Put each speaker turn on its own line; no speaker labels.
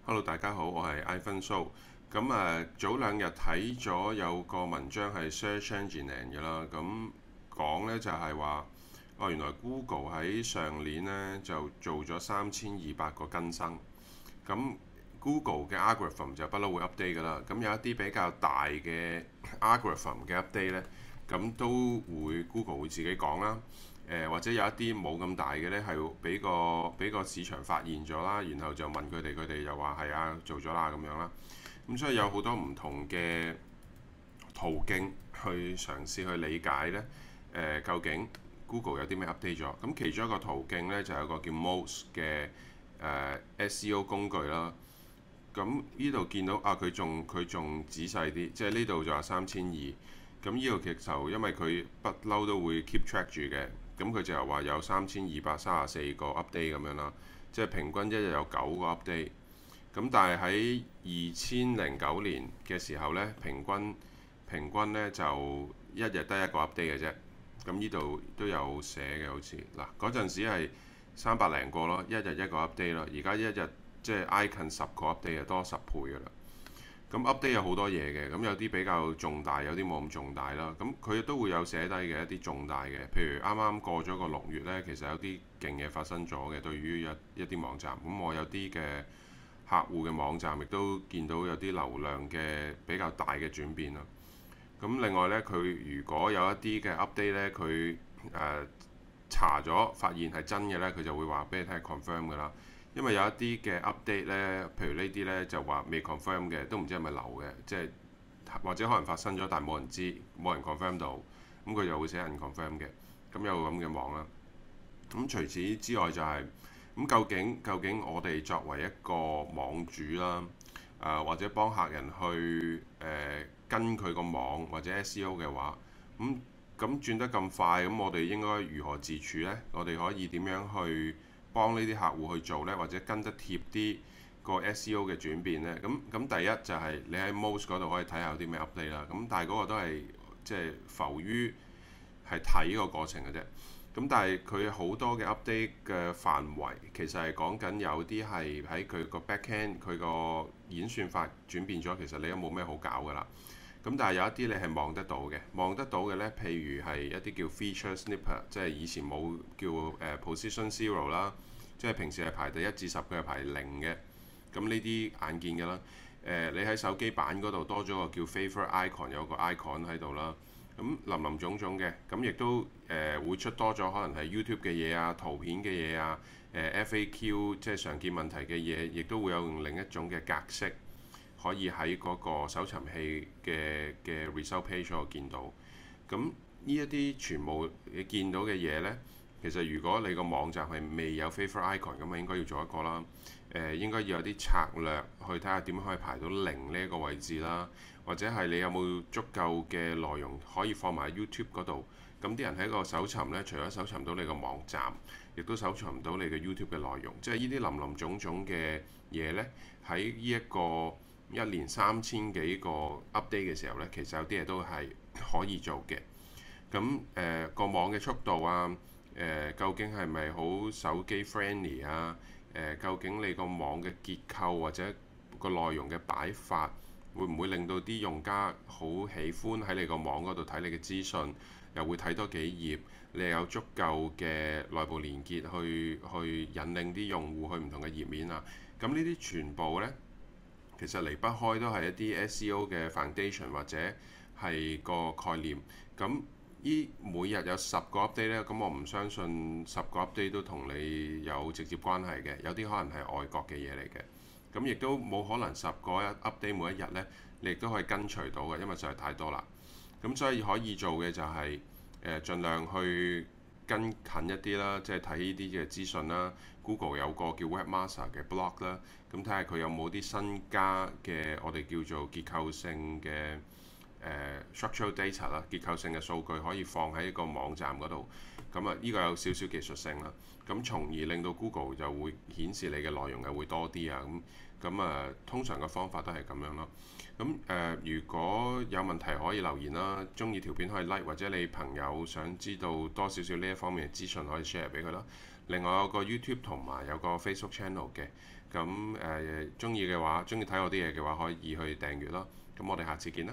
Hello，大家好，我係 iPhone So。早兩日睇咗有個文章係 Search Engine 嘅啦，咁講呢就係話，原來 Google 喺上年呢就做咗3200個更新。咁 Google 嘅 algorithm 就不嬲會 update 噶啦。咁有一啲比較大嘅 algorithm 嘅 update 呢，咁都會 Google 會自己講啦。或者有一啲冇咁大嘅呢，係俾個市場發現咗啦，然後就問佢哋，佢哋又話係啊做咗啦咁樣啦。咁所以有好多唔同嘅途徑去嘗試去理解呢，究竟 Google 有啲咩 update 咗？咁其中一個途徑呢，就有個叫 Moz 嘅SEO 工具啦。咁呢度見到佢仲仔細啲，即係呢度就話3200。咁呢個其實因為佢不嬲都會 keep track 住嘅，咁佢就係話有3234個 update 咁樣啦，即係平均一日有9個 update。咁但係喺2009年嘅時候呢，平均呢就一日得一個 update 嘅啫。咁呢度都有寫嘅，好似嗱嗰陣時係300零個咯，一日一個 update 咯。而家一日即係挨近10個 update 就多10倍噶啦。咁 update 有好多嘢嘅，咁有啲比較重大，有啲冇咁重大啦。咁佢都會有寫低嘅一啲重大嘅，譬如啱啱過咗個6月呢，其實有啲勁嘢發生咗嘅，對於一啲網站。咁我有啲嘅客戶嘅網站亦都見到有啲流量嘅比較大嘅轉變啦。咁另外呢，佢如果有一啲嘅 update 呢，佢查咗發現係真嘅呢，佢就會話俾你聽係 confirm 㗎啦。因為有一啲嘅 update 呢，譬如呢啲呢，就話未 confirm 嘅，都唔知係咪流嘅，即係或者可能發生咗，但係冇人知，冇人 confirm 到，咁佢就會寫人 confirm 嘅。咁有咁嘅網啦。咁除此之外就係咁，究竟我哋作為一個網主啦，或者幫客人去跟佢個網或者 SEO 嘅話，咁轉得咁快，咁我哋應該如何自處呢？我哋可以點樣去幫呢啲客戶去做呢？或者跟得貼啲個 SEO 嘅轉變呢？咁第一就係你喺 Moz 嗰度可以睇下有啲咩 update 啦。咁但係嗰個都係即係浮於係睇個過程嘅啫。咁但係佢好多嘅 update 嘅範圍，其實係講緊有啲係喺佢個 backend 佢個演算法轉變咗，其實你都冇咩好搞㗎啦。咁但係有一啲你係望得到嘅，望得到嘅呢，譬如係一啲叫 feature snipper，即係以前冇叫position zero 啦，即係平時係排第1至10，佢係排0嘅。咁呢啲眼見嘅啦。你喺手機版嗰度多咗個叫 favorite icon，有個 icon 喺度啦。咁林林總總嘅，咁亦都會出多咗可能係 YouTube 嘅嘢啊、圖片嘅嘢啊、FAQ 即係常見問題嘅嘢，亦都會有用另一種嘅格式。可以喺嗰個搜尋器嘅 result page 度見到。咁呢一啲全部你見到嘅嘢呢，其實如果你個網站係未有 favorite icon，咁啊應該要做一個啦。應該要有啲策略去睇下點樣可以排到0呢一個位置啦，或者係你有冇足夠嘅內容可以放埋 YouTube 嗰度。咁啲人喺個搜尋呢，除咗搜尋到你個網站，亦都搜尋唔到你嘅 YouTube 嘅內容。即係呢啲林林總總嘅嘢呢，喺呢一個1年3000幾個 update 嘅時候呢，其實有啲嘢都係可以做嘅。咁個網嘅速度啊，究竟係咪好手機 friendly 啊？究竟你個網嘅結構或者個內容嘅擺法，會唔會令到啲用家好喜歡喺你個網嗰度睇你嘅資訊，又會睇多幾頁，你又有足夠嘅內部連結去引領啲用戶去唔同嘅頁面啊？咁呢啲全部呢，其實離不開都係一啲 SEO 嘅 foundation 或者係個概念。咁依每日有10個 update 呢，咁我唔相信10個 update 都同你有直接關係嘅，有啲可能係外國嘅嘢嚟嘅。咁亦都冇可能10個 update 每一日呢，你亦都可以跟隨到嘅，因為實在太多啦。咁所以可以做嘅就係盡量去跟近一啲啦，即係睇呢啲嘅資訊啦。Google 有個叫 Webmaster 嘅 blog 啦，咁睇下佢有冇啲新加嘅我哋叫做結構性嘅structural data 啦，結構性嘅數據可以放喺一個網站嗰度。咁啊，呢個有少少技術性啦。咁從而令到 Google 就會顯示你嘅內容係會多啲啊。咁啊，通常嘅方法都係咁樣咯。咁如果有問題可以留言啦，中意條片可以 like，或者你朋友想知道多少少呢一方面嘅資訊可以 share 俾佢啦。 另外有個 YouTube 同埋有個 Facebook channel 嘅。咁中意嘅話，中意睇我啲嘢嘅話，可以去訂閱咯。咁我哋下次見啦。